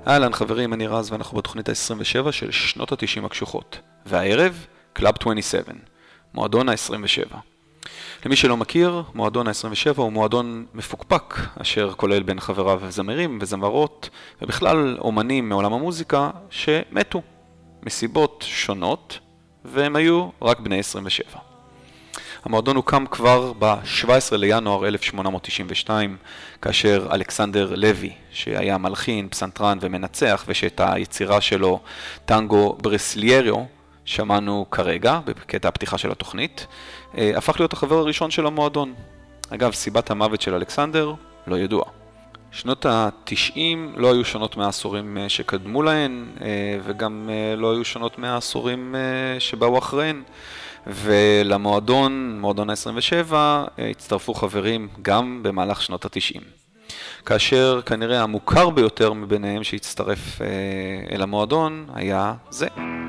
אהלן חברים, אני רז ואנחנו בתוכנית ה-27 של שנות ה-90 הקשוחות. והערב, קלאב 27, מועדון ה-27. למי שלא מכיר, מועדון ה-27 הוא מועדון מפוקפק, אשר כולל בין חבריו זמרים וזמרות, ובכלל אומנים מעולם המוזיקה שמתו מסיבות שונות, והם היו רק בני 27. המועדון הוקם כבר ב-17 לינואר 1892, כאשר אלכסנדר לוי, שהיה מלחין, פסנתרן ומנצח, ושאת היצירה שלו, טנגו ברסיליירו, שמענו כרגע, בקטע הפתיחה של התוכנית, הפך להיות החבר הראשון של המועדון. אגב, סיבת המוות של אלכסנדר לא ידוע. שנות ה-90 לא היו שונות מהעשורים שקדמו להן, וגם לא היו שונות מהעשורים שבאו אחריהן. ולמועדון, מועדון ה-27, הצטרפו חברים גם במהלך שנות ה-90. כאשר כנראה המוכר ביותר מביניהם שהצטרף אל המועדון היה זה.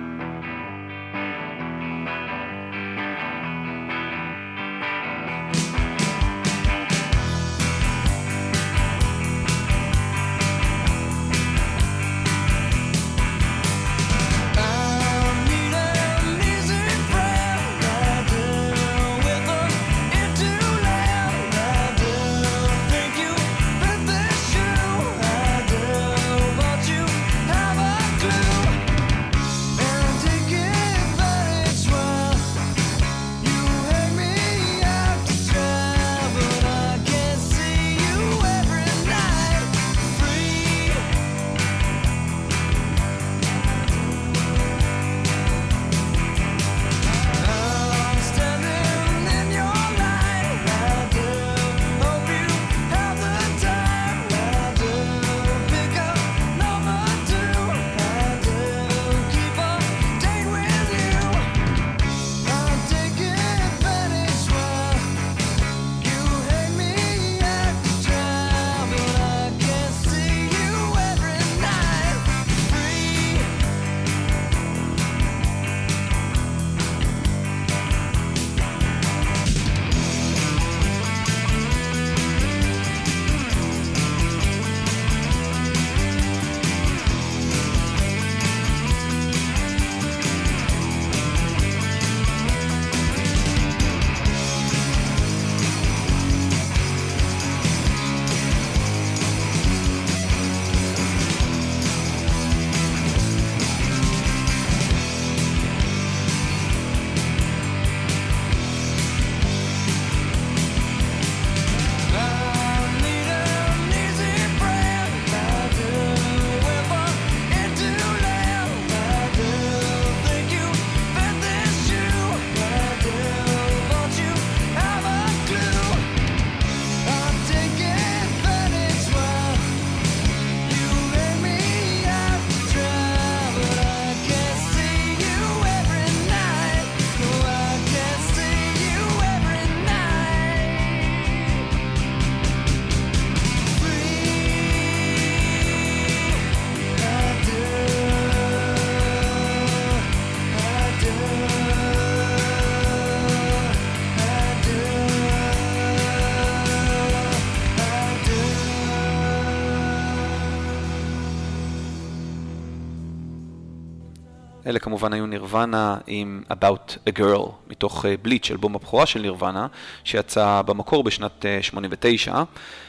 אלה כמובן היו נירוונה עם About a Girl, מתוך בליץ', אלבום הבכורה של נירוונה, שיצא במקור בשנת 89.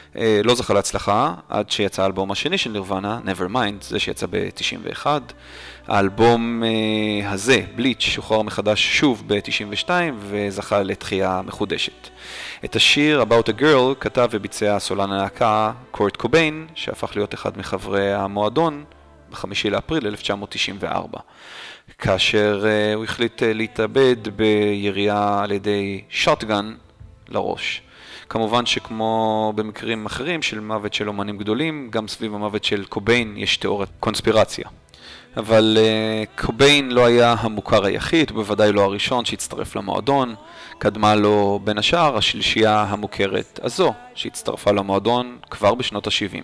לא זכה להצלחה, עד שיצא האלבום השני של נירוונה, Nevermind, זה שיצא ב-91. האלבום הזה, בליץ', שוחרר מחדש שוב ב-92, וזכה לתחייה מחודשת. את השיר About a Girl כתב וביצע סולן הלהקה קורט קוביין, שהפך להיות אחד מחברי המועדון, ב-5 לאפריל 1994. כאשר הוא החליט להתאבד בירייה על ידי שוטגן לראש. כמובן שכמו במקרים אחרים של מוות של אומנים גדולים, גם סביב המוות של קוביין יש תיאוריית קונספירציה. אבל קוביין לא היה המוכר היחיד, ובוודאי לא הראשון שהצטרף למועדון. קדמה לו בין השאר השלישייה המוכרת הזו, שהצטרפה למועדון כבר בשנות ה-70.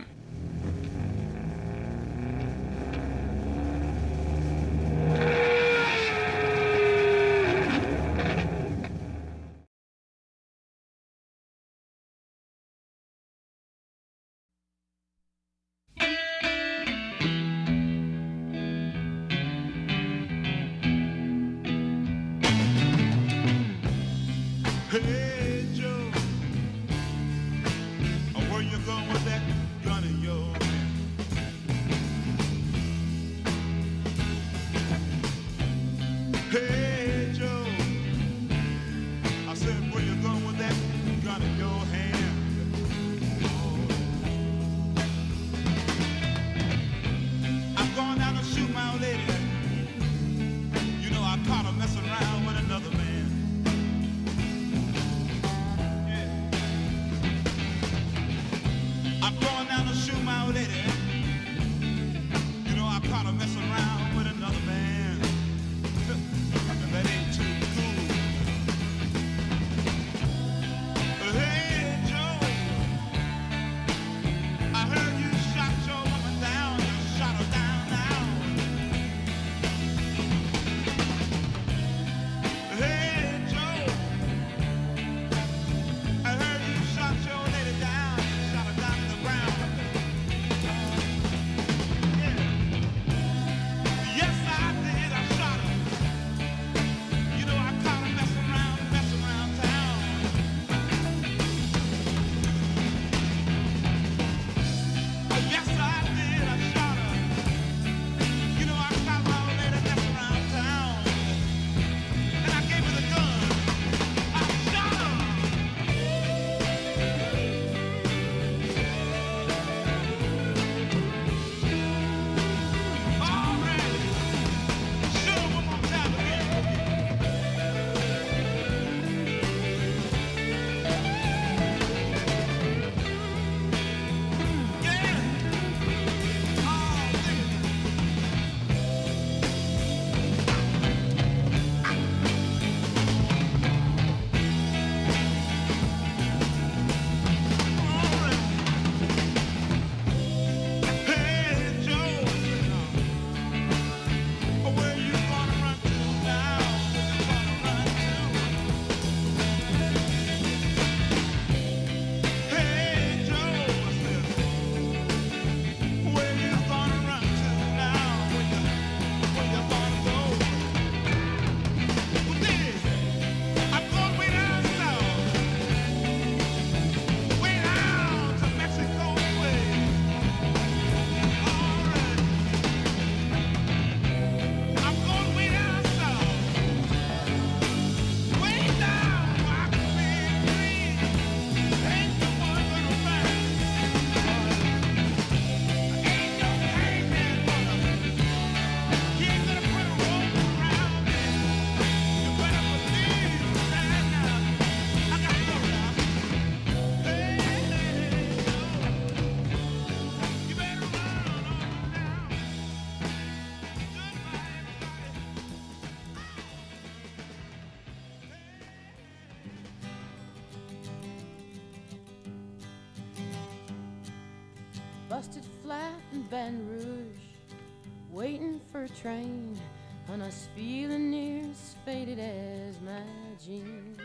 Hey Joe, where you going with that gun in your hand? Hey Joe, I said, where you going with that gun in your hand? I'm going down to shoot my old lady. You know I caught her messing around with another man. I'm going down to shoot my old lady. You know I caught her messing around with another man. And that ain't too cool. Hey Joe, I heard you shot your woman down. You shot her down now. Hey Joe, I heard you shot your lady down. You shot her down to the ground. Yeah. Yes, I did. I shot her. You know I caught her messing around town. Yes, I did. I shot her. You know I caught my old lady messing around town. And I gave her the gun. I shot her. All right. Shoot her one more time again. Yeah. Oh, hey, Joe, where you gonna run to now? Where you gonna run to? Hey, Joe, where you gonna run to now? Where you gonna go? Well, then, I'm going way down south, way down to Mexico way. All right. I'm going way down south, way down where I can be free. Ain't no one gonna find me. Ain't no hangman gonna. He ain't gonna put a rope around me. You better believe that now. I got to go now. Hey, you better run on now. Goodbye, Busted flat in Baton Rouge, waiting for a train, and I was feeling near as faded as my jeans.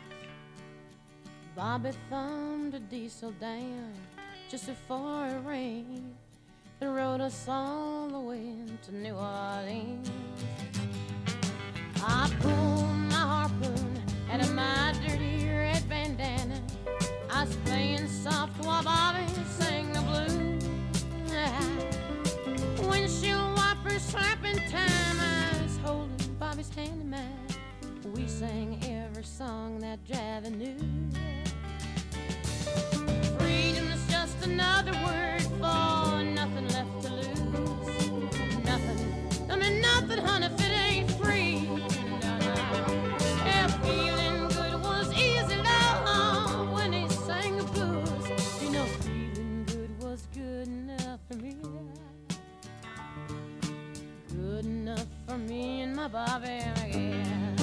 Bobby thumbed a diesel down just before it rained and rode us all the way to New Orleans. I pulled my harpoon out of my dirty red bandana. I was playing soft while Bobby sang the blues. Windshield wipers slapping time. I was holding Bobby's hand in mine. We sang every song that Javi knew. Freedom is just another word for nothing left to lose. Nothing, I mean nothing, honey, if it ain't free. No, no. Yeah, feeling good was easy, love, when he sang the blues. You know, feeling good was good enough for me. Good enough for me and my Bobby again.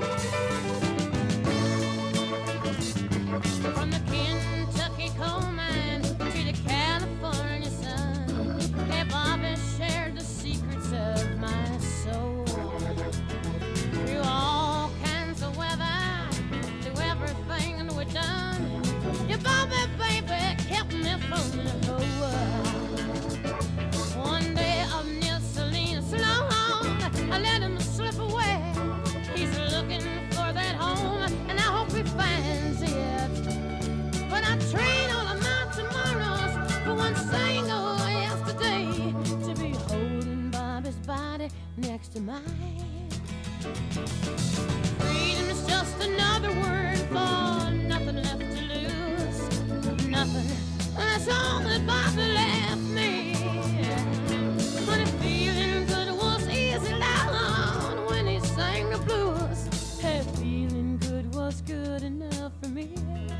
From the Kentucky coal mine to the California sun, hey, Bobby shared the secrets of my soul. Through all kinds of weather, through everything that we've done, your Bobby, baby, kept me from the whole world. One day up near Salinas, long, I let him slip away. of mine. Freedom is just another word for nothing left to lose. Nothing. That's all that Bobby left me. Honey, feeling good was easy down when he sang the blues. Hey, feeling good was good enough for me.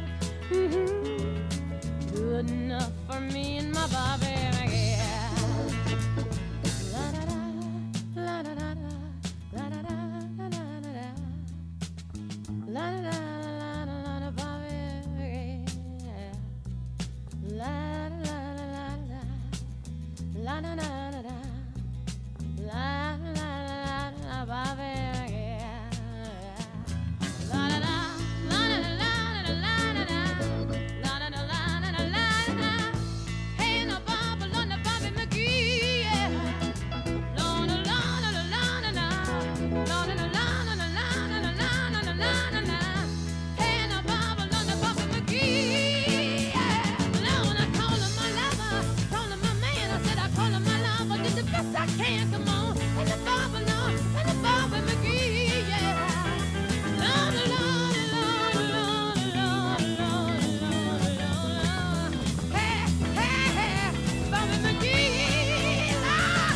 Good enough for me and my Bobby. Yeah. La da da, la da da da, la da da, la da da da, la da da, la da Bobby. Yeah. La la la la la, la da da da da, la la la la Bobby. Yeah. La da da, la da da la da la da da, la da da la da la la da. Hey, no Bobby, no Bobby McGee. Yeah. La da la da la la da da, la da da la da la la da la la da la la da. Hey, no Bobby, no Bobby McGee. Yeah. Now when I call him my lover, call him my man, I said I call him my lover, did the best I can. Come on, and the Bobby, no, and the Bobby McGee. Yeah. La da la da la da la da la da la. Hey, hey, hey, Bobby McGee. La.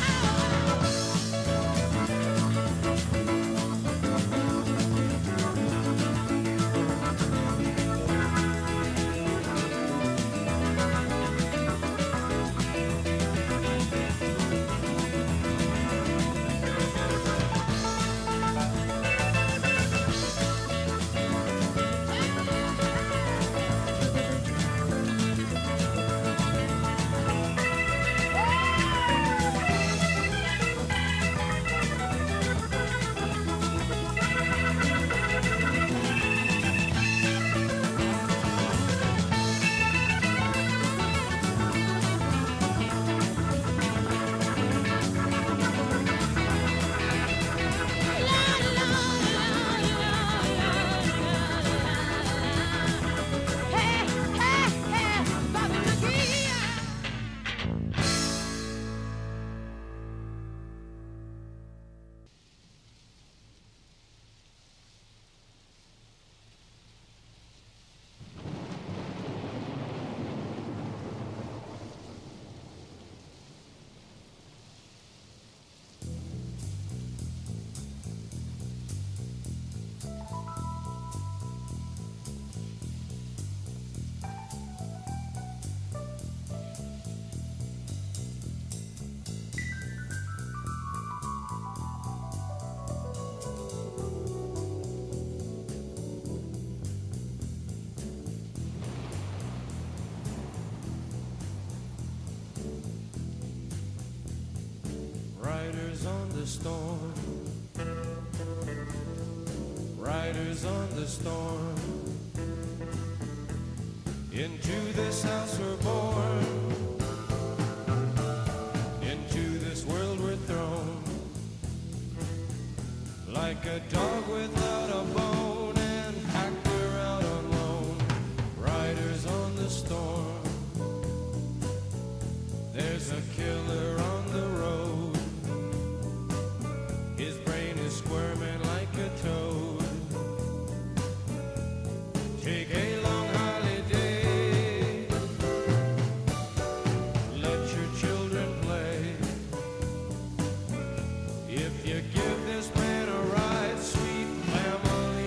Riders on the storm, riders on the storm. Into this house we're born, into this world we're thrown. Like a dog without a bone and hacked her out on loan. Riders on the storm, there's a killer on the road. His brain is squirming like a toad. Take a long holiday, let your children play. If you give this man a ride, sweet family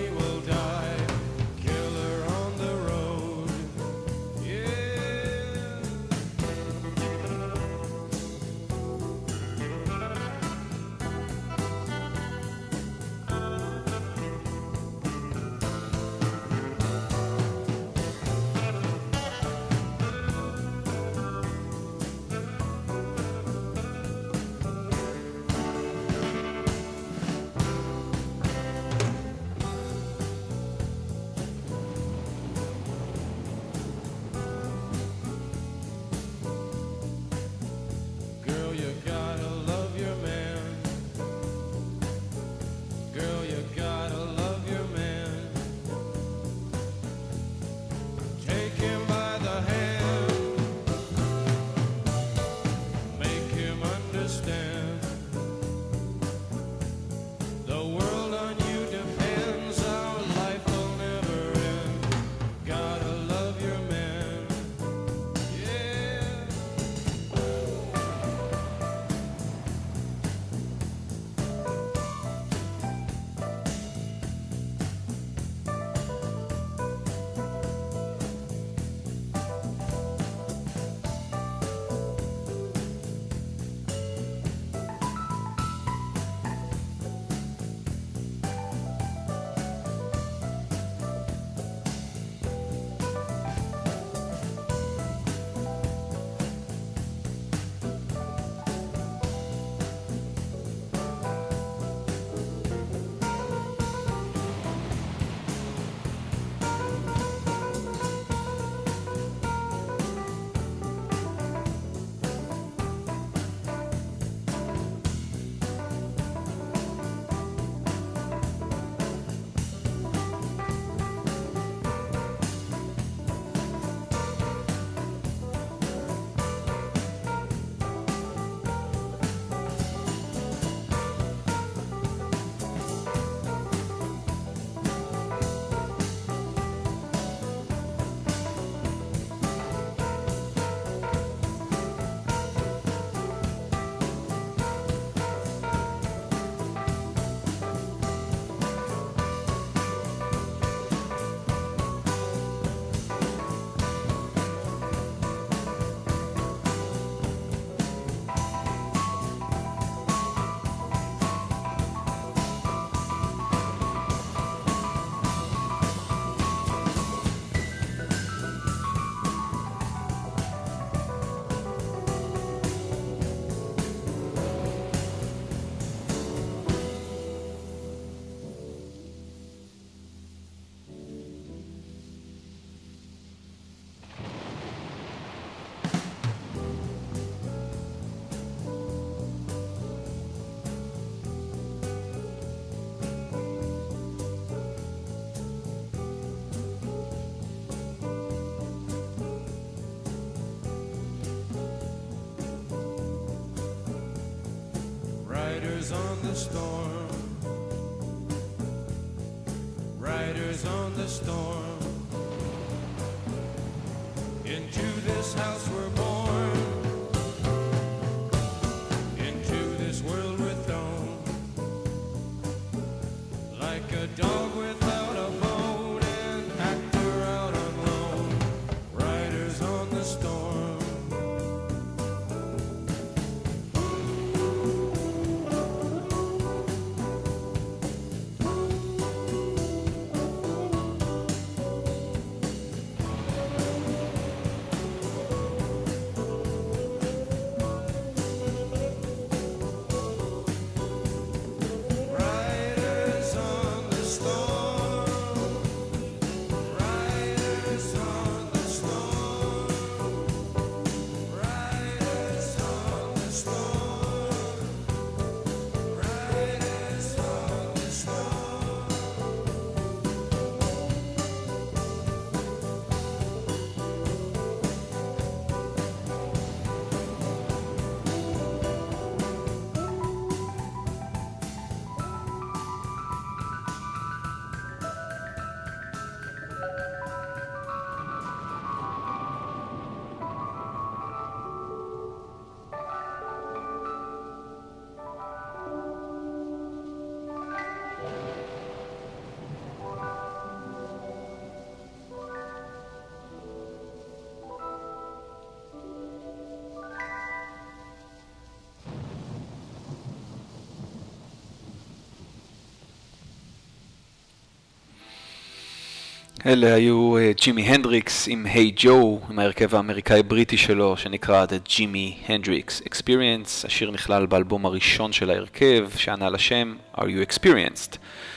Riders on the storm. Riders on the storm. Into this house we're born. Into this world we're thrown. Like a dog without a bone, an actor out on loan. Riders on the storm. Riders on the storm. Riders on the storm. Riders on the storm. Riders on the storm. אלה היו ג'ימי הנדריקס עם היי ג'ו, עם ההרכב האמריקאי-בריטי שלו, שנקרא The Jimi Hendrix Experience. השיר נכלל באלבום הראשון של ההרכב, שענה לשם Are You Experienced?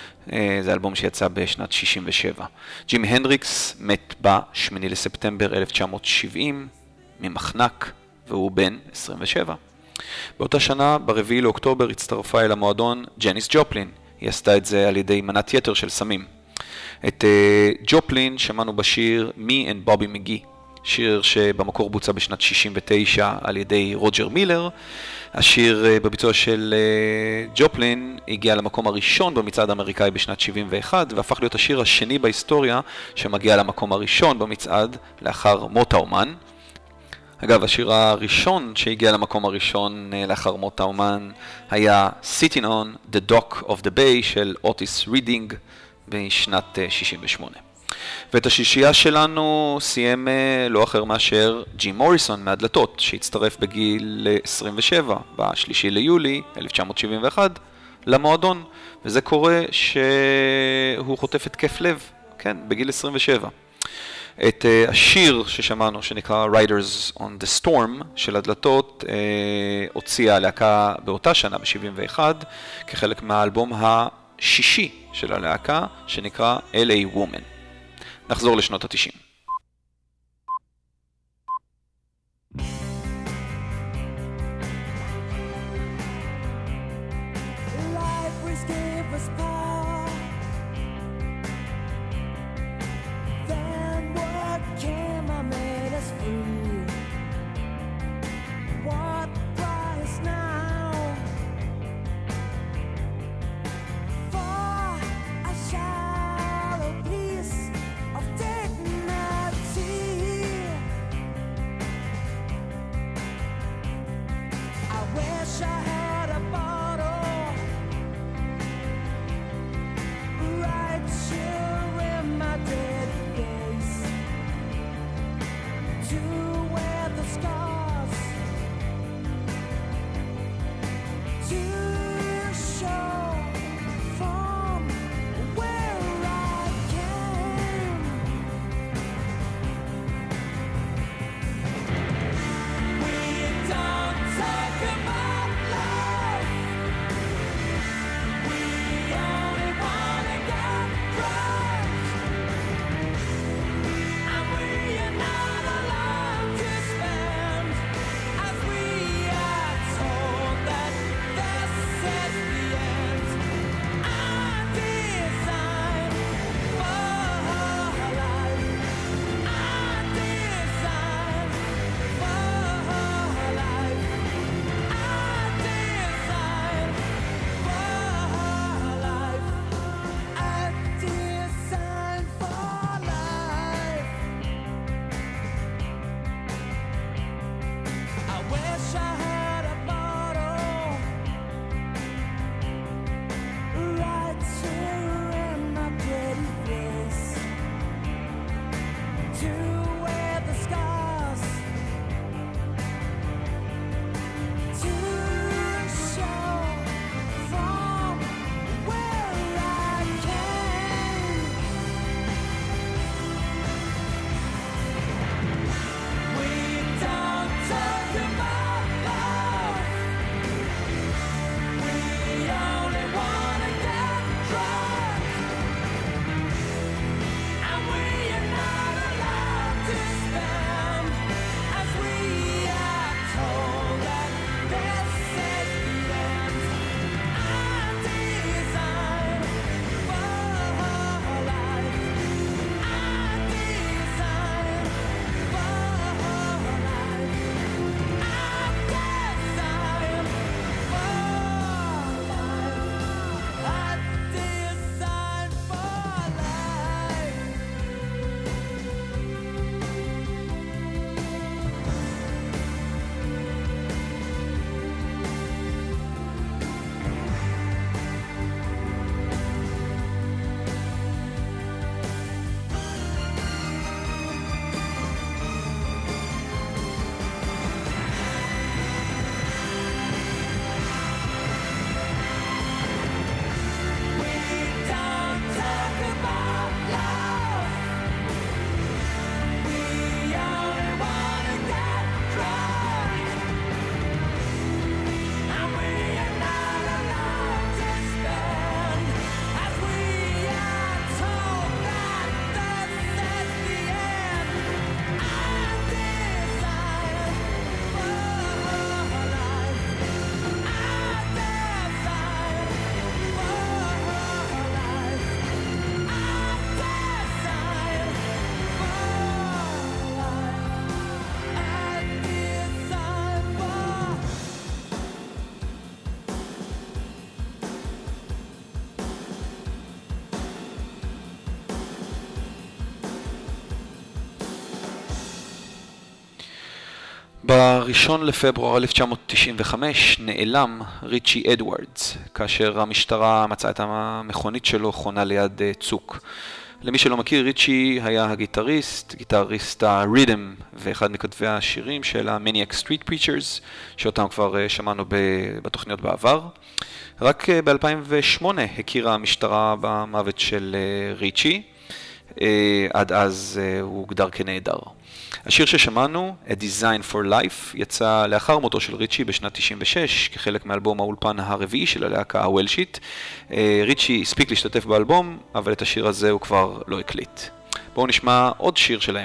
זה אלבום שיצא בשנת 67. ג'ימי הנדריקס מת ב-8 לספטמבר 1970 ממחנק, והוא בן 27. באותה שנה, ב4 לאוקטובר, הצטרפה אל המועדון ג'ניס ג'ופלין. היא עשתה את זה על ידי מנת יתר של סמים. את ג'ופלין שמענו בשיר Me and Bobby McGee, שיר שבמקור בוצע בשנת 69 על ידי רוג'ר מילר. השיר בביצוע של ג'ופלין הגיע למקום הראשון במצעד האמריקאי בשנת 71, והפך להיות השיר השני בהיסטוריה שמגיע למקום הראשון במצעד לאחר מות האומן. אגב, השיר הראשון שהגיע למקום הראשון לאחר מות האומן היה Sitting on the Dock of the Bay של אוטיס רידינג בשנת 68. ואת השישייה שלנו סיים לא אחר מאשר ג'ים מוריסון מהדלתות, שהצטרף בגיל 27, ב3 ליולי 1971, למועדון, וזה קורה שהוא חוטף התקף לב, כן, בגיל 27. את השיר ששמענו, שנקרא Riders on the Storm של הדלתות, הוציאה הלהקה באותה שנה, ב71, כחלק מהאלבום השישי של הלהקה, שנקרא LA Woman. נחזור לשנות ה-90. Shallow piece of dignity. בראשון לפברואר 1995 נעלם ריצ'י אדוארדס, כאשר המשטרה מצאה את המכונית שלו חונה ליד צוק. למי שלא מכיר, ריצ'י היה הגיטריסט, גיטריסט הריתם, ואחד מכתבי השירים של ה-Maniac Street Preachers, שאותם כבר שמענו בתוכניות בעבר. רק ב-2008 הכירה המשטרה במוות של ריצ'י, עד אז הוא הוגדר כנהדר. השיר ששמענו, A Design for Life, יצא לאחר מותו של ריצ'י בשנת 96, כחלק מאלבום האולפן הרביעי של הלהקה הוולשית. ריצ'י הספיק להשתתף באלבום, אבל את השיר הזה הוא כבר לא הקליט. בואו נשמע עוד שיר שלהם.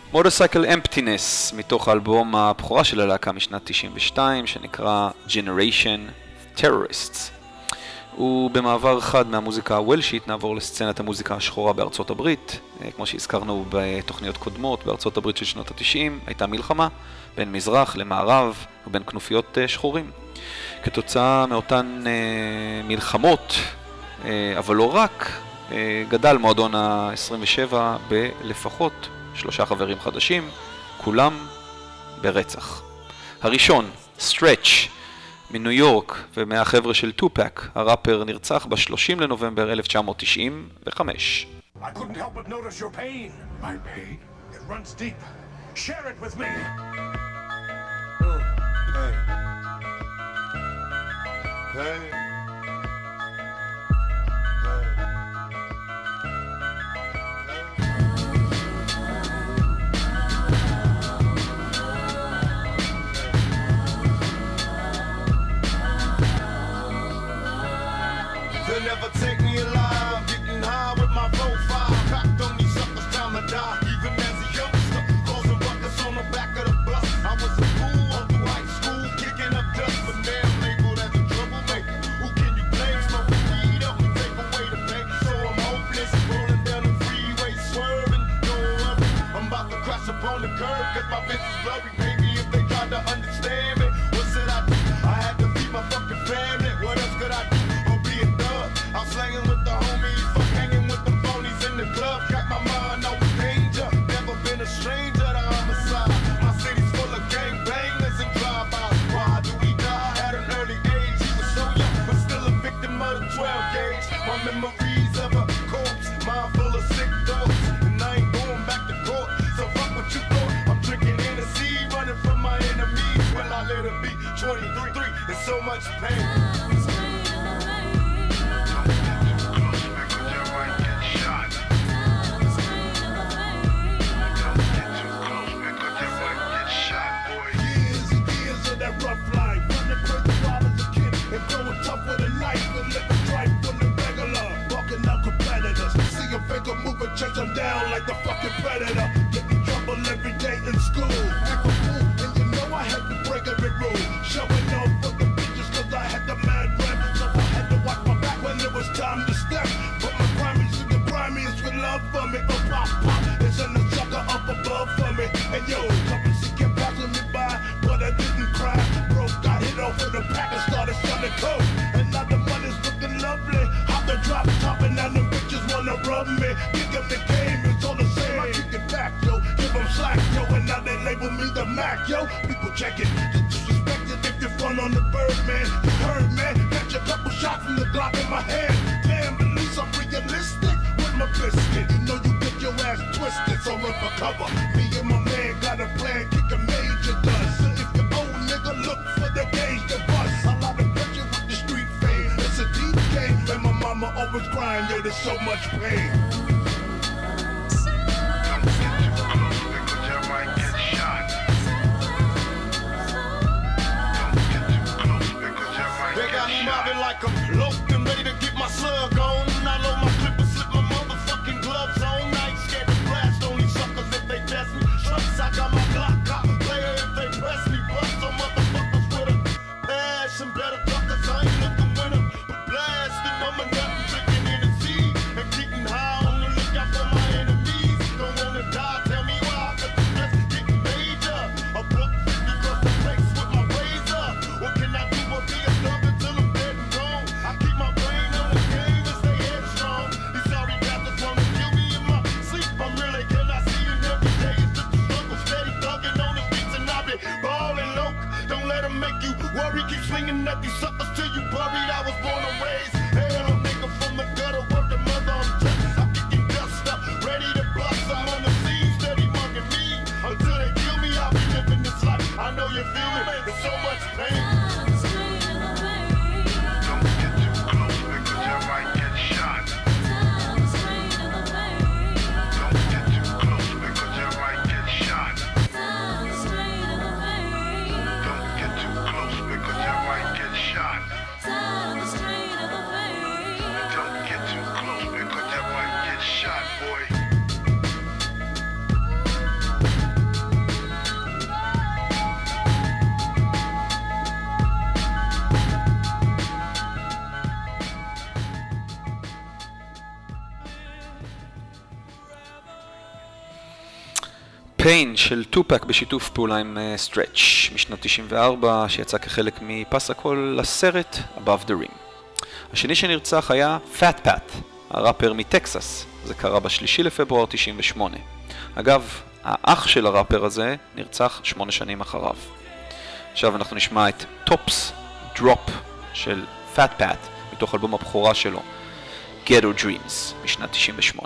Motorcycle Emptiness, מתוך האלבום הבכורה של הלהקה משנת 92, שנקרא Generation Terrorists. ובמעבר חד מהמוזיקה הוולשית נעבור לסצנת המוזיקה השחורה בארצות הברית. כמו שהזכרנו בתוכניות קודמות, בארצות הברית של שנות ה-90 הייתה מלחמה בין מזרח למערב ובין כנופיות שחורים. כתוצאה מאותן מלחמות, אבל לא רק, גדל מועדון ה-27 בלפחות 3 חברים חדשים, כולם ברצח. הראשון, Stretch, מניו יורק ומהחבר'ה של טופק, הראפר נרצח ב-30 לנובמבר 1995. I couldn't help but notice your pain. My pain? It runs deep. Share it with me. Hey. Hey. They'll never take me alive, getting high with my profile, cocked on these suckers, time to die. Even as a youngster, causing ruckus on the back of the bus. I was a fool all through high school, kicking up dust, but now I'm labeled as a troublemaker. Who can you blame? Smoking weed up and take away the pain. So I'm hopeless, rolling down the freeway, swerving. Don't worry, I'm about to crash upon the curb, cause my bitch is blurry, baby. If they tried to understand me, what should I do? I had to feed my fucking family. What else could I do? I'm slanging with the homies, fuck hanging with the phonies in the club. Got my mind on danger, never been a stranger to homicide. My city's full of gangbangers and drive-bys. Why do we die at an early age? He was so young, but still a victim of the 12 gauge. My memories of a corpse, mind full of sick dogs, and I ain't going back to court. So fuck what you thought. I'm drinking Hennessy, running from my enemies. Will I let it be? 23, there's so much pain. Chase them down like the fucking predator. Get in trouble every day in school. Act a fool, and you know I had to break every rule. Showing off for the bitches cause I had the mad rep. So I had to watch my back when it was time to step. But my primaries to the primaries with love for me. Oh pop pop, it's in the sucker up above for me. And yo, currency kept passing me by, but I didn't cry. Bro got hit off with a pack and started selling coke. And now the money's looking lovely. Hop the drop top and now the bitches wanna rub me. The game is all the same, I kick it back, yo. Give them slack, yo, and now they label me the Mac, yo. People check it, get disrespected if you front on the bird, man. You heard, man, catch a couple shots from the Glock in my hand. Damn, at least I'm realistic with my biscuit. You know you get your ass twisted, so run for cover. Me and my man got a plan, kick a major dust. So if your old nigga look for the gauge to bust, a lot of pressure with the street fame. It's a deep game, and my mama always crying, yo, there's so much pain. Like I'm locked and ready to get my slug on. I load my clip and slip my motherfucking gloves on. I ain't scared to blast on these suckers if they test me. Trucks, I got my Glock cop player if they press me. Bust some motherfuckers with a passion. Better talkers, I ain't looking with them. But blasting, I'm a nut and drinking Hennessy and getting high on the lookout for my enemies. Don't wanna die, tell me why. Cause the stress getting major. A buck 50 across the face with my razor. What can I do but be a thug until I'm dead and gone? I keep my brain on the game and stay headstrong. These sorry bastards wanna kill me in my sleep. I'm really cannot see it every day. It's just a struggle, steady thugging on the streets and I be ballin' low. Don't let them make you worry. Keep swinging at these suckers till you buried. I was born and raised. Hell, a nigga from the gutter, word to mother, I'm just. I'm kicking dust up, ready to bust. I'm on the scene, steady mugging me. Until they kill me, I'll be living this life. I know you feel me, there's so much pain. Down the street of the vein. קוקיין של טופק בשיתוף פעולה עם סטרץ' משנת 94 שיצא כחלק מפס הכל לסרט Above the Rim. השני שנרצח היה פאט פאט, הראפר מטקסס. זה קרה ב3 לפברואר 98. אגב, האח של הראפר הזה נרצח 8 שנים אחריו. עכשיו אנחנו נשמע את טופס דרופ של פאט פאט מתוך אלבום הבכורה שלו Ghetto Dreams משנת 98.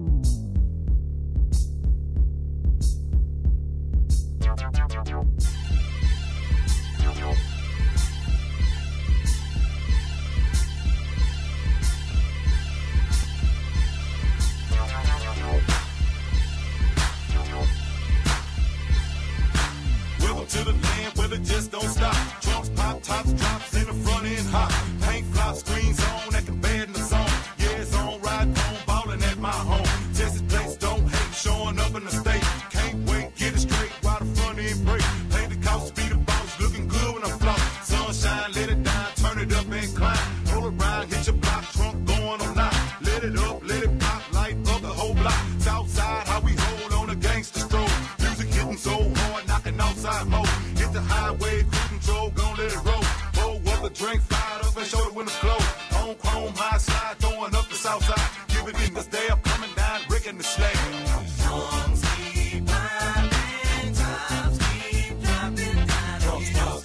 To the land where it just don't stop. Trunks pop, tops, drops in the front end hot. Paint flop, screens on, at the bed in the zone. Yeah, it's on, ride home, ballin' at my home. Texas place don't hate, showing up in the state. Can't wait, get it straight, while the front end break. Play the couch, speed the boss, looking good when I floss. Sunshine, let it down, turn it up and climb. Roll around, hit your block, trunk going on loud. Let it up, let it pop, light up the whole block. Southside, how we hold on a gangster stroll. Music hitting so hard, knocking outside mode. Hit the highway, cruise control, gon' let it roll. Roll up a drink, fired up and show the windows closed. On chrome, high slide, throwing up the south side. Give it in, this day up, coming down, breaking the slag. Drums keep popping, times keep dropping down. Drums drop,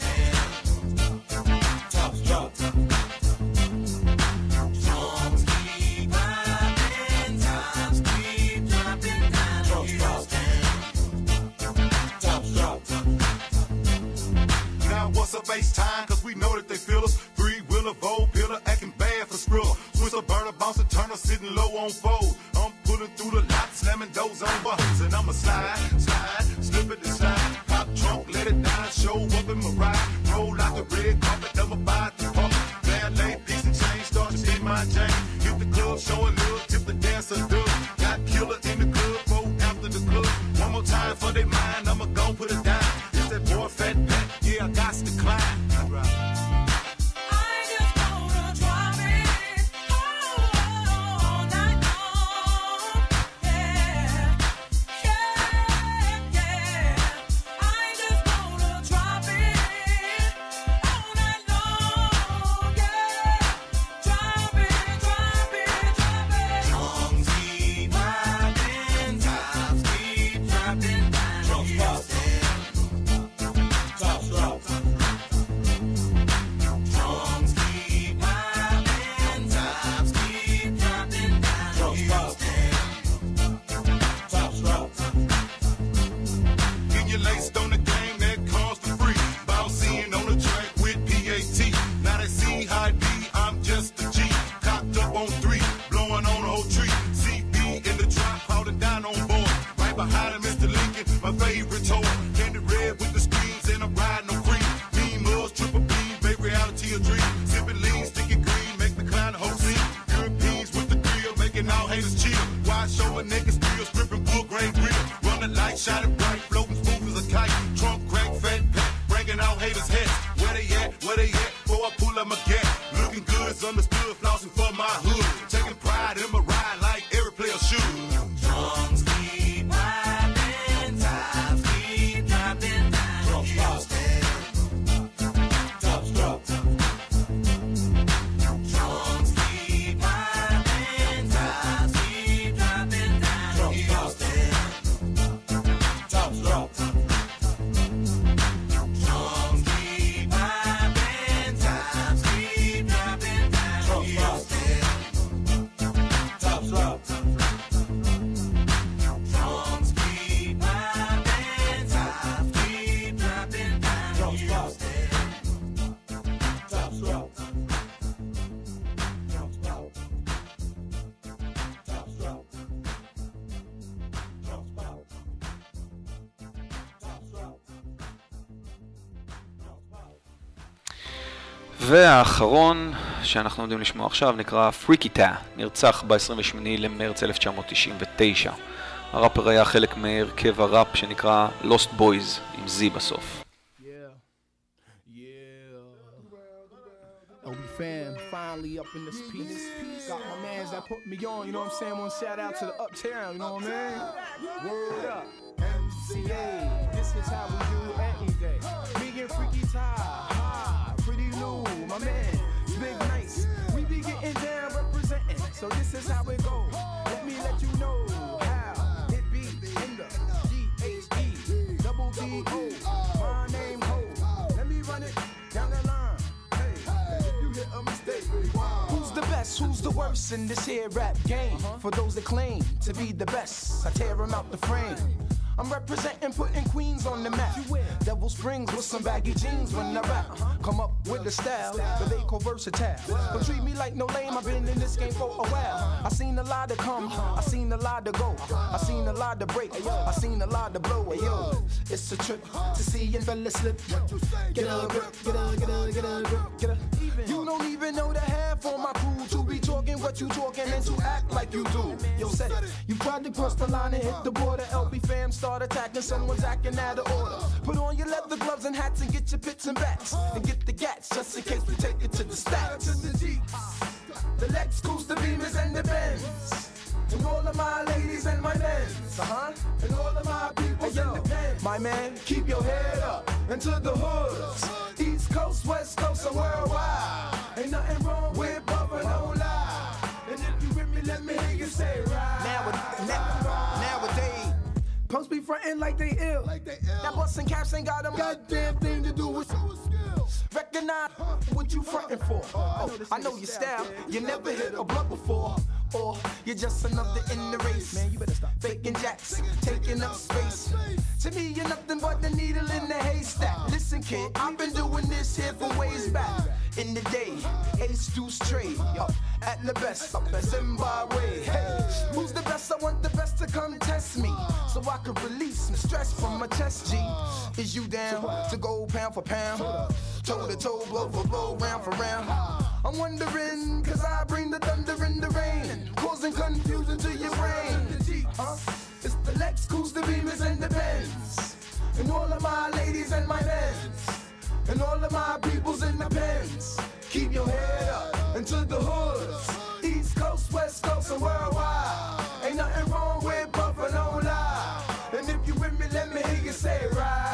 tops drop. Drums keep popping, times keep dropping down. Drums drop, tops drop. Now what's a bass time? Cause we know that they feel us. Three-wheeler, Vogue, pillar, acting bad for Skrilla. Switch a burner, bouncer, turner, sitting low on fold. I'm pulling through the lot, slamming doors on buttons. And I'ma slide, slip it and slide. Pop trunk, let it down, show up in my ride. Roll out the red carpet, I'ma buy the pump. Valet, piece and chain, start to spin my chain. Hit the club, show a look, tip the dancer dub. Got killer in the club, roll after the club. One more time for they mind, I'ma go put it down. It's that boy fat back, yeah, I got to climb. והאחרון שאנחנו עומדים לשמוע עכשיו נקרא פריקיטה, נרצח ב-28 למרץ 1999. הראפר היה חלק מהרכב הראפ שנקרא Lost Boys עם Z בסוף. Fam, finally up in this piece. Got my mans that put me on, you know what I'm saying? One shout out to the uptown, you know what I mean? Word up. YMCA. This is how we do anything. Me and Freaky Ty, ha, Pretty Lou, my man, Big Nice. We be getting down representing, so this is how it goes. Let me let you know how it be in the GHE, double D-O, my name Ho. Let me run it down the line. Hey, if you hit a mistake, who's the best, who's the worst in this here rap game? For those that claim to be the best, I tear them out the frame. I'm representing, putting Queens on the map. Devil Springs with some baggy jeans when I rap. Come up with a style, but they call versatile. Don't treat me like no lame, I've been in this game for a while. I seen a lot to come, I seen a lot to go. I seen a lot to break, I seen a lot to blow. Yo, it's a trip to see a fella slip. Get a grip, get a grip, get a. You don't even know the half on my crew to be talking what you talking and to act like you do. Yo, said you tried to cross the line and hit the border. LB fam start attacking, someone's acting out of order. Put on your leather gloves and hats and get your pits and bats and get the gats just in case we take it to the stats. The Jeeps, the Lex, Coos, the Beamers and the Benz. And all of my ladies and my men, and all of my people in the pen. My man, keep your head up into the hoods. East Coast, West Coast, and worldwide. Ain't nothing wrong with bumping, no lie. And if you with me, let me hear you say right. Nowadays, punks be frontin' like they ill. That bustin' caps ain't got a goddamn thing to do with skills. Recognize what you frontin' for. Oh, I know your style. You never hit a blunt before. Or you're just another in the race. Man, you better stop faking jacks, taking up space. To me, you're nothing but the needle in the haystack. Listen, kid, I've been doing this here for ways back. In the day, Ace Deuce trade, up at the best, up at Zimbabwe. Hey, who's the best? I want the best to come test me, so I could release some stress from my chest. G, is you down to go pound for pound, toe to toe, blow for blow, round for round? I'm wondering, cause I bring the thunder and the rain, causing confusion to your brain. It's the Lex, Coos, the Beamers and the Benz, and all of my ladies and my men, and all of my peoples in the pens. Keep your head up into the hoods, East Coast, West Coast, and worldwide. Ain't nothing wrong with bumping, no lie. And if you with me, let me hear you say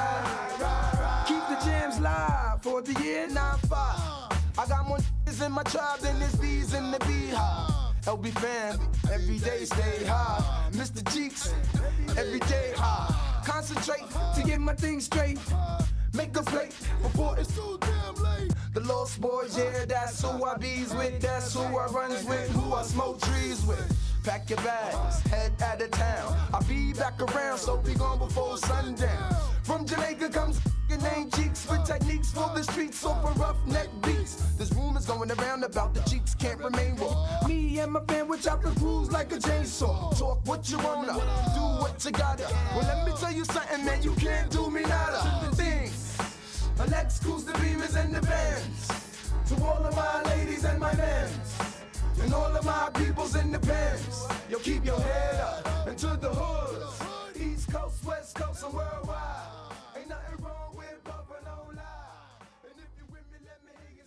right. Keep the jams live for the year 95. I got more niggas in my tribe than there's bees in the beehive. LB fam, every day stay high. Mr. Cheeks, every day high. Concentrate to get my thing straight. Make a plate before it's too damn late. The Lost Boys, yeah, that's who I bees with. That's who I runs with, who I smoke trees with. Pack your bags, head out of town. I'll be back around, so be gone before sundown. From Jamaica comes named Cheeks with techniques for the streets over roughneck beats. There's rumors going around about the Cheeks can't remain raw. Me and my fam, which chop the crews like a chainsaw. Talk what you wanna, do what you gotta. Well, let me tell you something, man, you can't do me nada. Things, Lex, Coos, the Beamers and the Benz. To all of my ladies and my men, and all of my peoples in the pens. Yo, keep your head up into the hoods, East Coast, West Coast, and worldwide. Ain't nothing wrong with bumping, no lie. And if you with me, let me hear you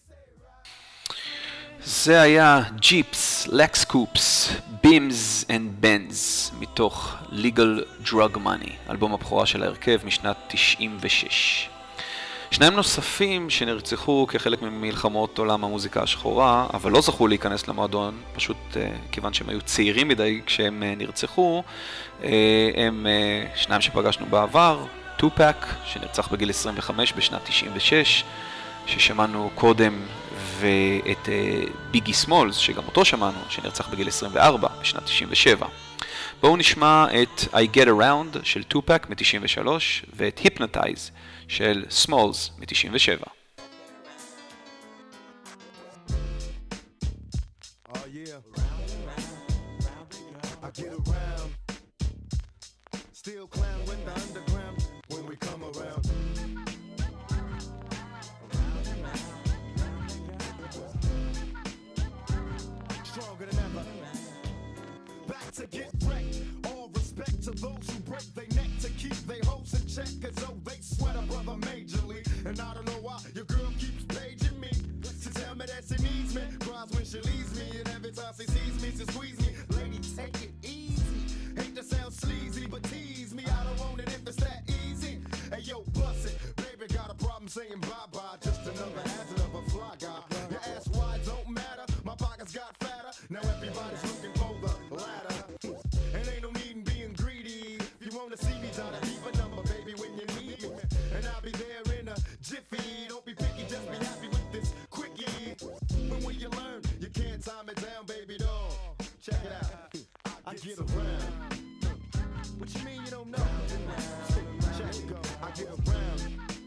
say right. זה היה ג'יפס, לקס קופס, בימס אנד בנז, מתוך Legal Drug Money, אלבום הבכורה של ההרכב משנת 96. שניים נוספים שנרצחו כחלק ממלחמות עולם המוזיקה השחורה, אבל לא זכו להיכנס למועדון, פשוט כיוון שהם היו צעירים מדי כשהם נרצחו, הם שניים שפגשנו בעבר, טופק, שנרצח בגיל 25 בשנת 96, ששמענו קודם, ואת ביגי סמולס, שגם אותו שמענו, שנרצח בגיל 24 בשנת 97. בואו נשמע את I Get Around של טופק מ-93 ואת Hypnotize של סמולס מ-97. Oh yeah, I get around, still clown with the underground when we come around. Stronger than ever, back to get wrecked. All respect to those who break their neck to keep their hopes in check, as though they sweat a brother majorly. And I don't know why your girl keeps paging me to tell me that she needs me. Cries when she leaves me, and every time she sees me, she squeeze me. Lady, take it easy. Hate to sound sleazy, but tease me. I don't want it if it's that saying bye-bye, just another hazard of a fly guy. Your ass wide don't matter, my pockets got fatter. Now everybody's looking for the ladder. And ain't no need in being greedy. If you wanna see me, try to leave a number, baby, when you need me. And I'll be there in a jiffy. Don't be picky, just be happy with this quickie. When you learn, you can't time it down, baby doll. Check it out, I get around. What you mean you don't know? Check it go, I get around.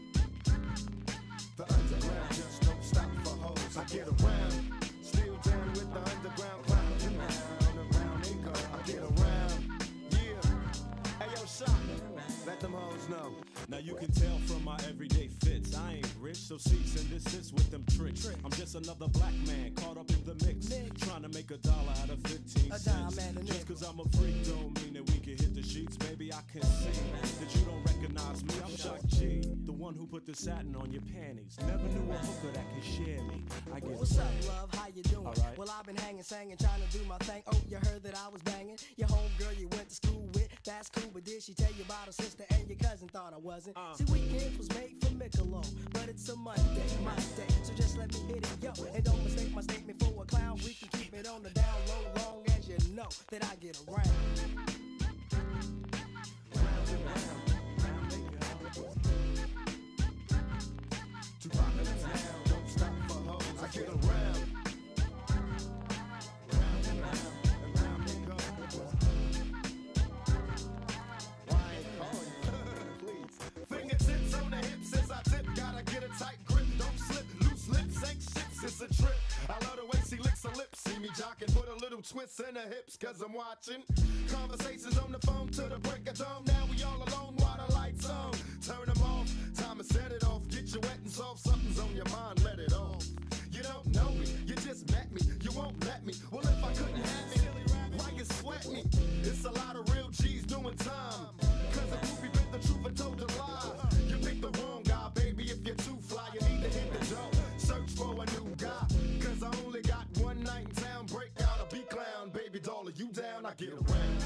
The underground just don't stop for hoes. I get around. Still down with the underground clown. Around they go. I get around. Yeah. Hey yo, shot. Let them hoes know. Now you can tell from my everyday fits, I ain't rich, so cease and desist with them tricks. I'm just another black man caught up in the mix, trying to make $1 out of 15 cents. Just cause I'm a freak don't mean that we can hit the sheets. Baby, I can see that you don't recognize me. I'm Shock G, the one who put the satin on your panties. Never knew a hooker that could share me. I get What's up, love? How you doing? Alright. Well, I've been hanging, singing, trying to do my thing. Oh, you heard that I was banging your homegirl you went to school with. That's cool, but did she tell you about her sister and your cousin? Thought I wasn't. See, weekends was made for Michelob, but it's a Monday, my day. So just let me hit it, yo. And don't mistake my statement for a clown. We can keep it on the down low, long as you know that I get around. Round and round, round they go. To rock in the town, don't stop for hoes. I get around. Round and round they go. Why ain't call you? Please. Fingertips on the hips as I tip. Gotta get a tight grip, don't slip. Loose lips ain't ships, it's a trip. I love the way she licks her lips. See me jocking, put a little twist in her hips, cause I'm watching. Conversations on the phone to the break of dawn. Now we all alone while the lights on. Turn them off, time to set it off. Get you wet and soft, something's on your mind, let it off. You don't know me, you just met me, you won't let me. Well, if I couldn't have me, why you sweat me? It's a lot of real G's doing time. Cause a groupie bit the truth and told a lie. You picked the wrong guy, baby, if you're too fly, you need to hit the door. Search for a new guy, cause I only got one night in town. Break out a B-clown, baby doll, are you down? I get around.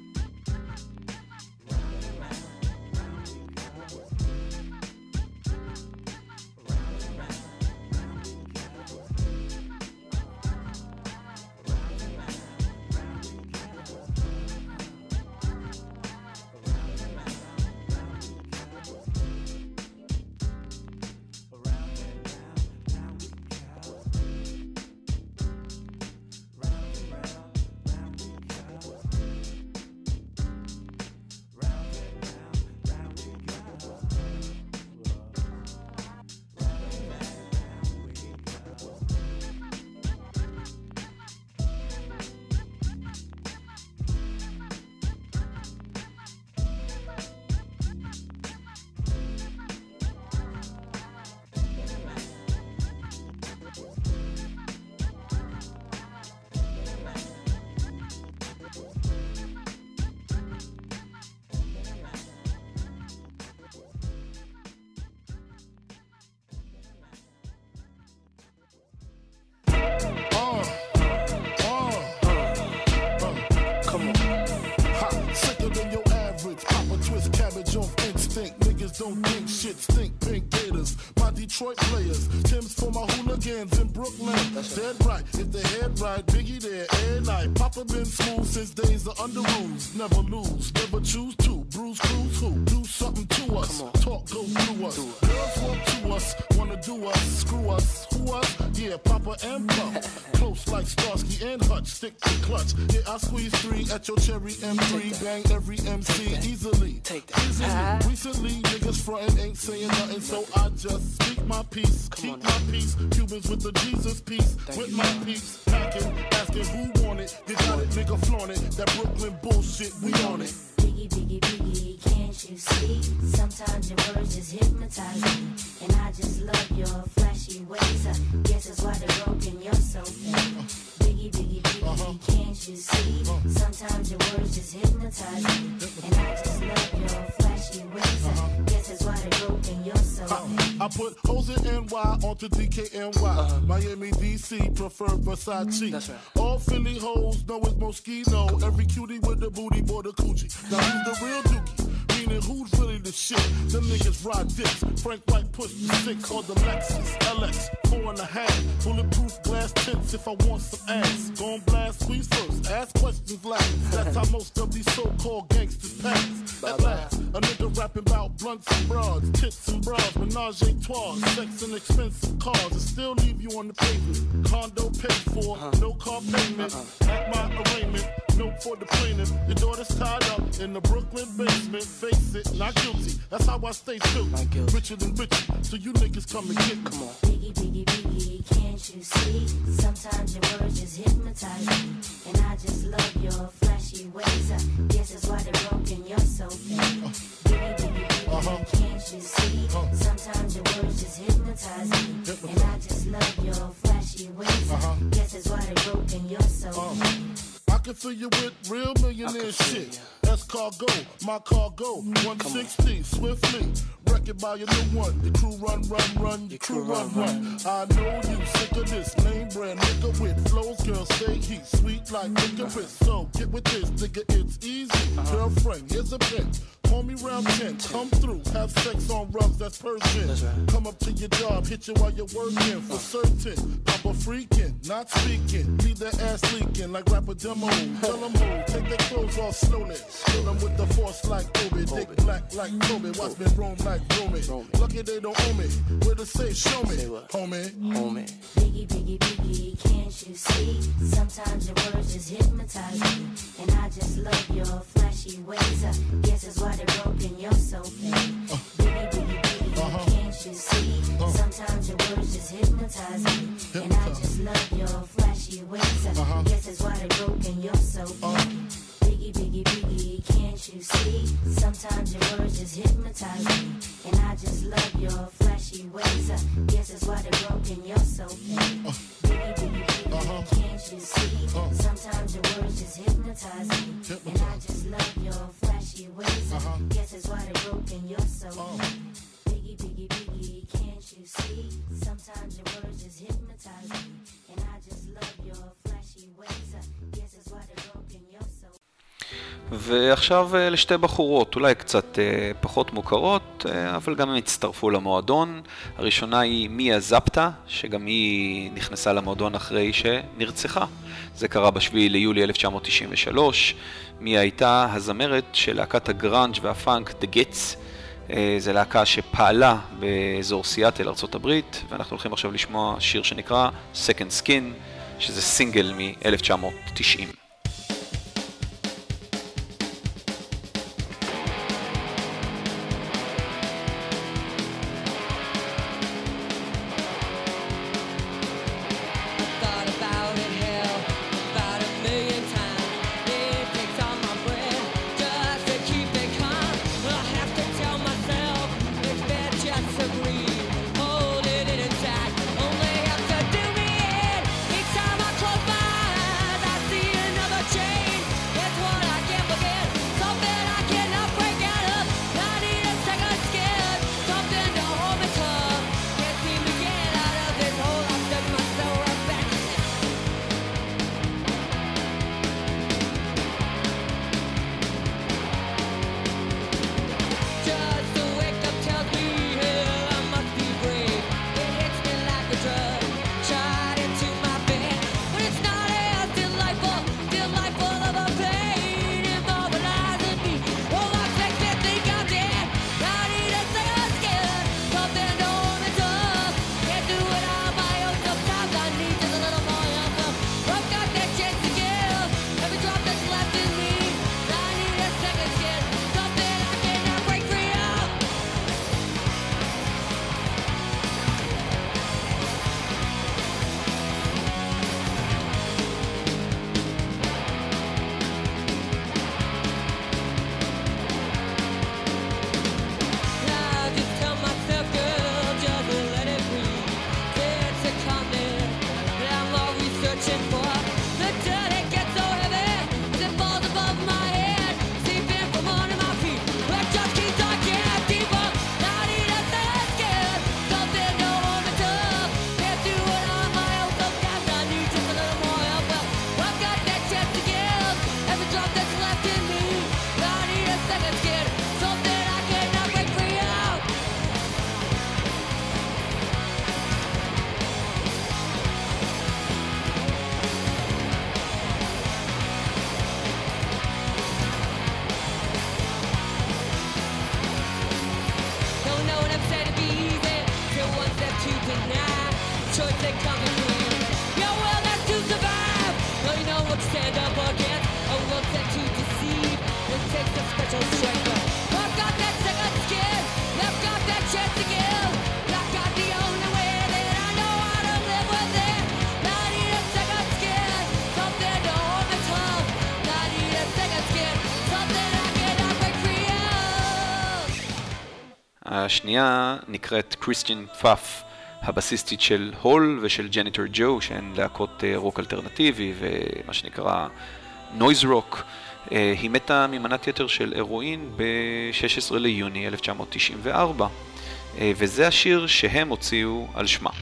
Don't think shit stink, pink gators. My Detroit players, Tim's for my hooligans in Brooklyn. Dead right, if they head right, Biggie there, every night. Papa been smooth since days of under rules. Never lose, never choose to. Bruise, cruise, who? Do something to us. Talk, go through us. Girls want to us, wanna do us, screw us. Who us? Yeah, Papa and Pump. Close like Starsky and Hutch, stick to clutch. Yeah, I squeeze 3 at your cherry M3. Bang every MC easily. Easily. Recently, niggas frontin' ain't saying nothing, so I just speak my peace. Keep my peace. Cubans with the Jesus peace. With my peace. Packing, asking who want it. They got it, nigga flaunt it. That Brooklyn bullshit, we on it. Biggie, biggie, biggie, can't you see? Sometimes your words just hypnotize me. And I just love your flashy ways. I guess that's why they're broken, you're so fake. Biggie, biggie, biggie, can't you see? Sometimes your words just hypnotize me. And I just love your flashy ways. I guess that's why they're broken, you're so fake. I put hoes in NY onto DKNY. Miami, DC, prefer Versace. That's right. All Philly hoes know it's Moschino. Every cutie with the booty, boy, the coochie. Now who's the real dookie? meaning who's really the shit? Them niggas ride dicks. Frank White pushed the 6 on the Lexus LX 4.5. Bulletproof glass tints if I want some ass. Gon' blast squeeze first, ask questions last. That's how most of these so-called gangsters pass. At last, a nigga rapping about blunts and broads, tits and bras, menage a trois, sex and expensive cars, and still leave you on the pavement. Condo paid for, no car payment. At my arraignment, note for the plaintiff. Your daughter's tied up in the Brooklyn basement. Face it, not guilty. That's how I stay still. Richer than richer, so you niggas come and get me. Come on. Biggie, biggie, biggie, can't you see? Sometimes your words just hypnotize me. And I just love your flashy ways. I guess that's why they're broken, you're so fake. Biggie, biggie, biggie, can't you see? Sometimes your words just hypnotize me. And I just love your flashy ways. I guess that's why they're broken, you're so fake. I can fill you with real millionaire shit. That's cargo, my cargo. 160, swiftly. Wreck it by your new one. Your crew run, your crew run. I know you sick of this name brand nigga with flows. Girl, say he's sweet like licorice. So get with this, nigga, it's easy. Girlfriend, here's a bitch. Call me round 10, come through, have sex on rugs, that's Persian. Come up to your job, hit you while you're working, for certain. Papa freaking, not speaking, leave that ass leaking like rapper demo. Tell them who, take their clothes off slowly. Kill them with the force like Obi, dick black like Kobe, watch me roam like Romy. Lucky they don't owe me, where to say, show me, homie. Biggie, biggie, biggie, can't you see? Sometimes your words just hypnotize me. And I just love your flashy ways. I guess that's why they're broken, you're so fake. Biggie, biggie, biggie, can't you see? Sometimes your words just hypnotize me. And I just love your flashy ways. I guess that's why they're broken, you're so fake. Biggie, biggie, biggie, can't you see? Sometimes your words just hypnotize me. And I just love your flashy ways. I guess that's why they're broken, you're so fake. Biggie, biggie, biggie, can't you see? Sometimes your words just hypnotize me. And I just love your flashy ways. I guess that's why they're broken, you're so fake. Biggie, biggie, biggie, can't you see? Sometimes your words just hypnotize me. And I just love your flashy ways. I guess that's why they're broken, you're so fake. ועכשיו לשתי בחורות, אולי קצת פחות מוכרות, אבל גם הם הצטרפו למועדון. הראשונה היא מיה זפטה, שגם היא נכנסה למועדון אחרי שנרצחה. זה קרה ב7 ליולי 1993. מיה הייתה הזמרת של להקת הגראנג' והפאנק The Gets. זו להקה שפעלה באזור סיאטל, ארצות הברית, ואנחנו הולכים עכשיו לשמוע שיר שנקרא Second Skin, שזה סינגל מ-1990. Only have to do me in. Each time I close my eyes, I see an to deny. Choice that comes with freedom. Your will has to survive. No, you know what to stand up against. A world set to deceive. It takes a special strength. I've got that second skin. I've got that chance to give. I've got the only way that I know how to live with it. I need a second skin. Something to hold me tough. I need a second skin. Something I cannot break free of. השנייה נקראת קריסטיאן פאף, הבסיסטית של הול ושל ג'ניטור ג'ו, שהן להקות רוק אלטרנטיבי ומה שנקרא נויז רוק. היא מתה ממנת יתר של הרואין ב-16 ליוני 1994, וזה השיר שהם הוציאו על שמה.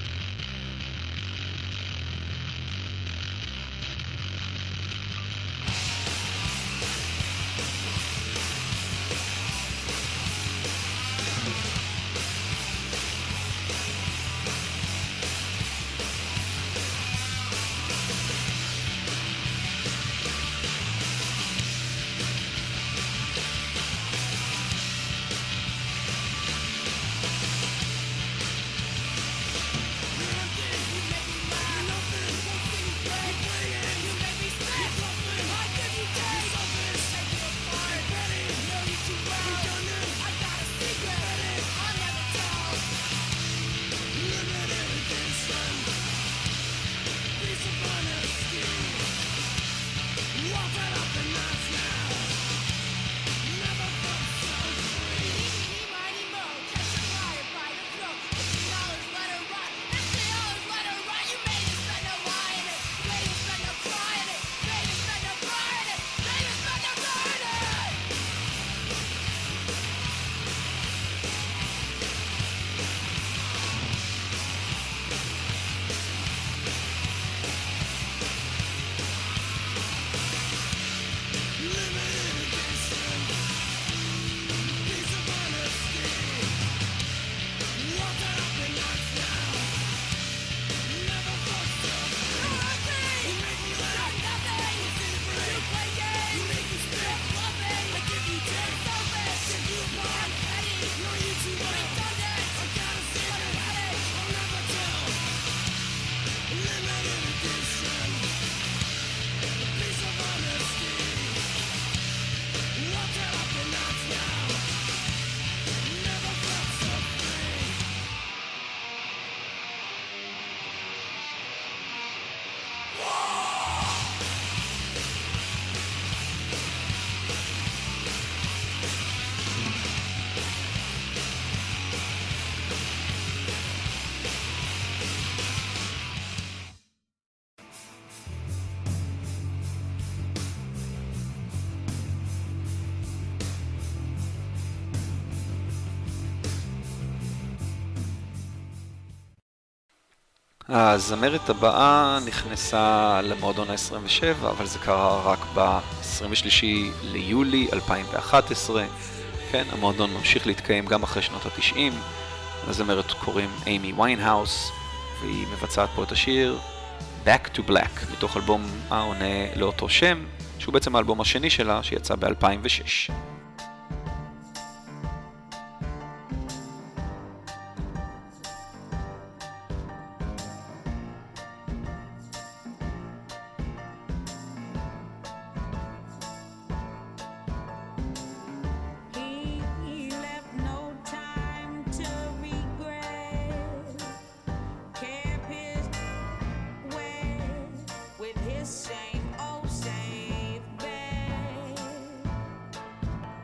הזמרת הבאה נכנסה למועדון ה-27, אבל זה קרה רק ב-23 ליולי 2011. כן, המועדון ממשיך להתקיים גם אחרי שנות ה-90. הזמרת קוראים אימי ויינהאוס, והיא מבצעת פה את השיר Back to Black, מתוך אלבום העונה לאותו שם, שהוא בעצם האלבום השני שלה, שיצא ב-2006. Same old same bed.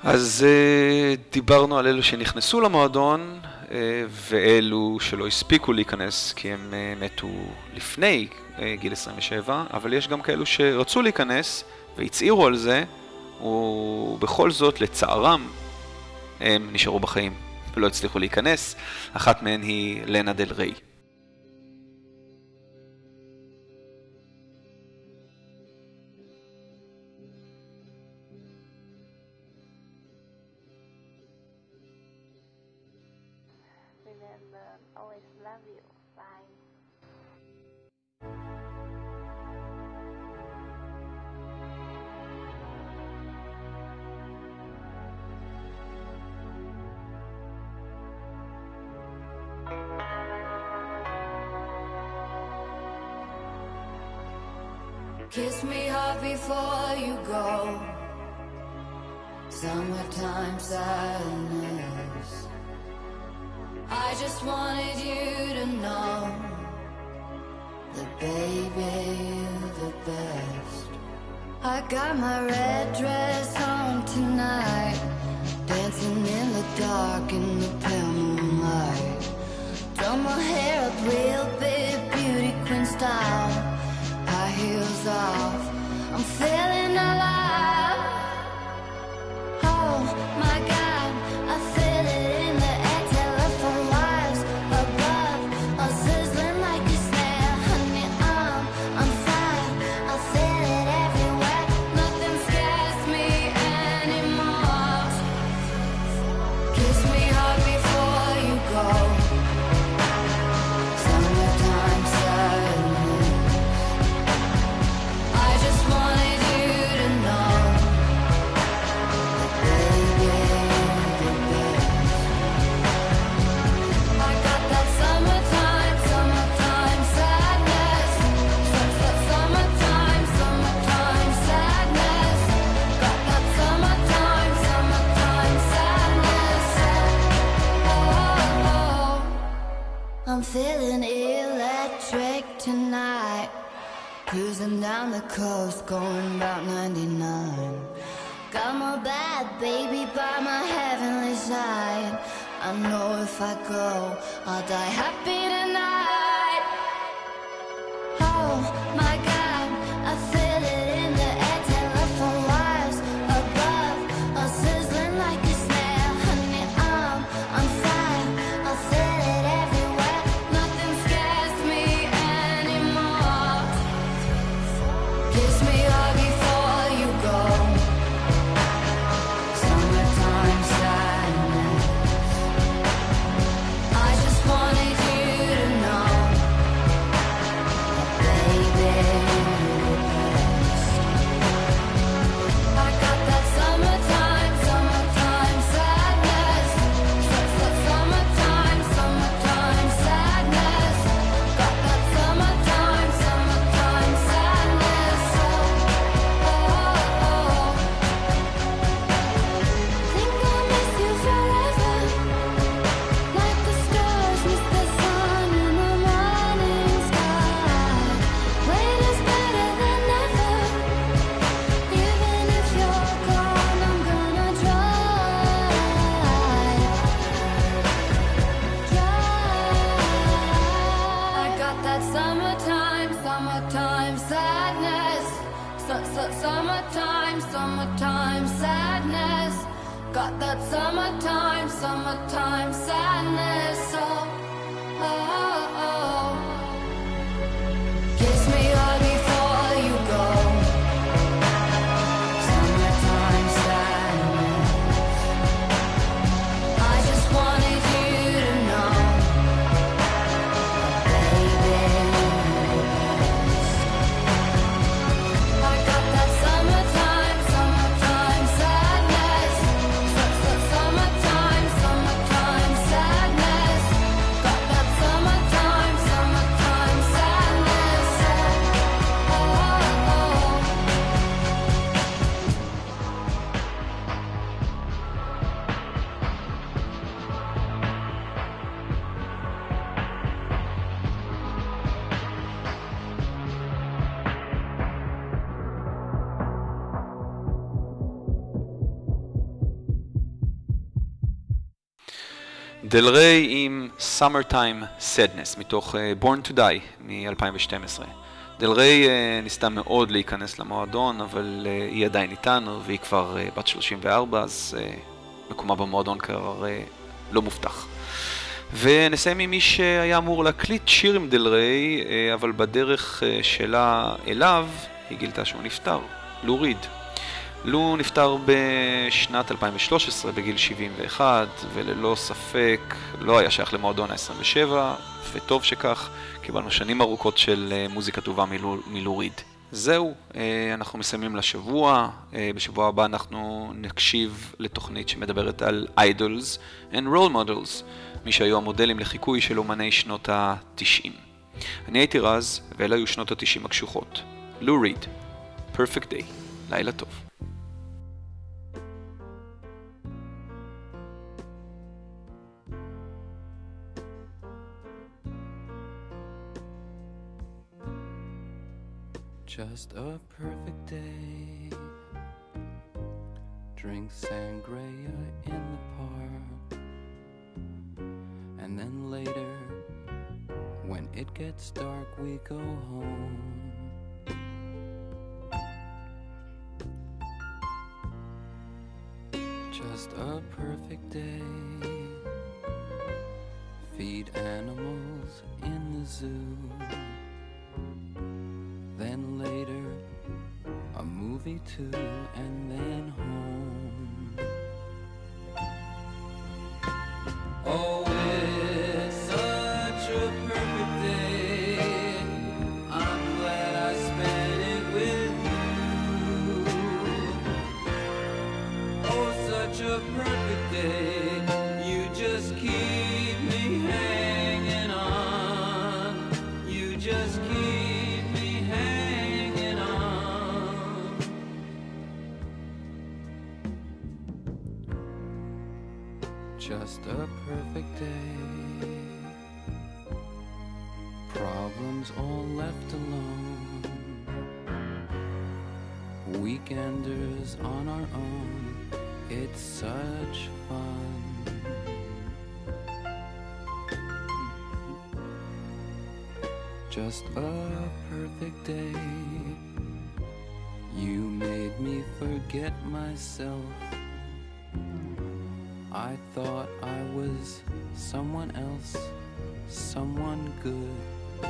אז דיברנו על אלו שנכנסו למועדון ואלו שלא הספיקו להיכנס כי הם מתו לפני גיל 27, אבל יש גם כאלו שרצו להיכנס והצעירו על זה, ובכל זאת לצערם הם נשארו בחיים ולא הצליחו להיכנס. אחת מהן היא לנה דל ריי. Remember, always love you. Bye. Kiss me hard before you go. Summertime sadness. I just wanted you to know that baby you're the best. I got my red dress on tonight, dancing in the dark in the pale moonlight. Done my hair up real big, beauty queen style. High heels off, I'm feeling alive. Oh my God, I feel it in the air. Telephone wires above, all sizzling like a snare. Honey, I'm fire. I feel it everywhere. Nothing scares me anymore. Kiss me hard before you go. Summertime sadness. I just wanted you to know that baby you're the best. I got that summertime, summertime sadness. Summertime, summertime sadness. Got that summertime, summertime sadness. Oh, I'm feeling electric tonight. Cruising down the coast, going about 99. Got my bad baby by my heavenly side. I know if I go, I'll die happy tonight. Oh my God, I feel it in the air. Telephone wires above, all sizzling like a snare. Honey, I'm fire. I feel it everywhere. Nothing scares me anymore. Kiss me hard before you go. Summertime sadness. I just wanted you to know that baby you're the best. I got that summertime, summertime sadness. Summertime, summertime sadness. Got that summertime, summertime sadness. Think I'll miss you forever, like the stars miss the sun in the morning sky. Wait is better than never. Even if you're gone, I'm gonna try. I got that summertime, summertime sadness. Summertime, summertime sadness. Got that summertime, summertime sadness. Oh. Kiss me hard before you go. Summertime sadness. I just wanted you to know that baby you're the best. I got that summertime, summertime sadness. Summertime, summertime sadness. Got that summertime, דל ריי עם Summertime Sadness מתוך Born to Die מ-2012. דל ריי ניסתה מאוד להיכנס למועדון, אבל היא עדיין איתנו והיא כבר בת 34, אז מקומה במועדון כבר לא מובטח. ונסיים עם מי שהיה אמור להקליט שיר עם דל ריי, אבל בדרך שלה אליו היא גילתה שהוא נפטר, לו ריד. לו נפטר בשנת 2013 בגיל 71, וללא ספק לא היה שייך למועדון ה-27, וטוב שכך, קיבלנו שנים ארוכות של מוזיקה טובה מלו ריד. זהו, אנחנו מסיימים לשבוע. בשבוע הבא אנחנו נקשיב לתוכנית שמדברת על Idols and Role Models, מי שהיו המודלים לחיקוי של אומני שנות ה-90. אני הייתי רז, ואלה היו שנות ה-90 הקשוחות. לו ריד, Perfect Day. לילה טוב. Just a perfect day. Drink sangria in the park. And then later, when it gets dark, we go home. Just a perfect day. Feed animals in the zoo. Then later, a movie too, and then home. Oh, it's such a perfect day. I'm glad I spent it with you. Oh, such a perfect day. You just keep me hanging on. You just keep me hanging on. Just a perfect day. Problems all left alone. Weekenders on our own. It's such fun. Just a perfect day. You made me forget myself. I thought I was someone else, someone good.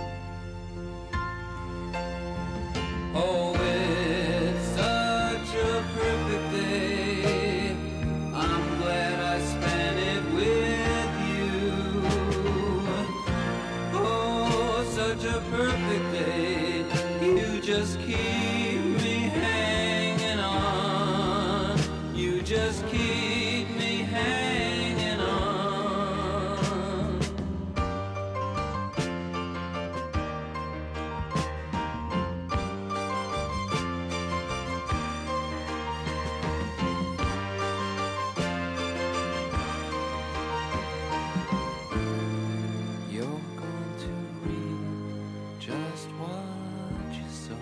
Oh, it's such a perfect day. I'm glad I spent it with you. Oh, such a perfect day. You just keep me hanging on. You just keep me hanging on. You're going to reap just what you sow.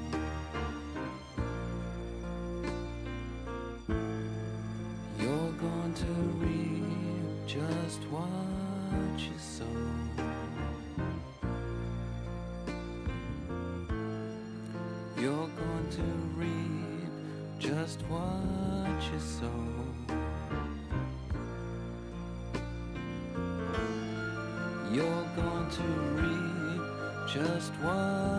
You're going to reap just what you sow. You're going to reap just what you sow. You're going to reap just what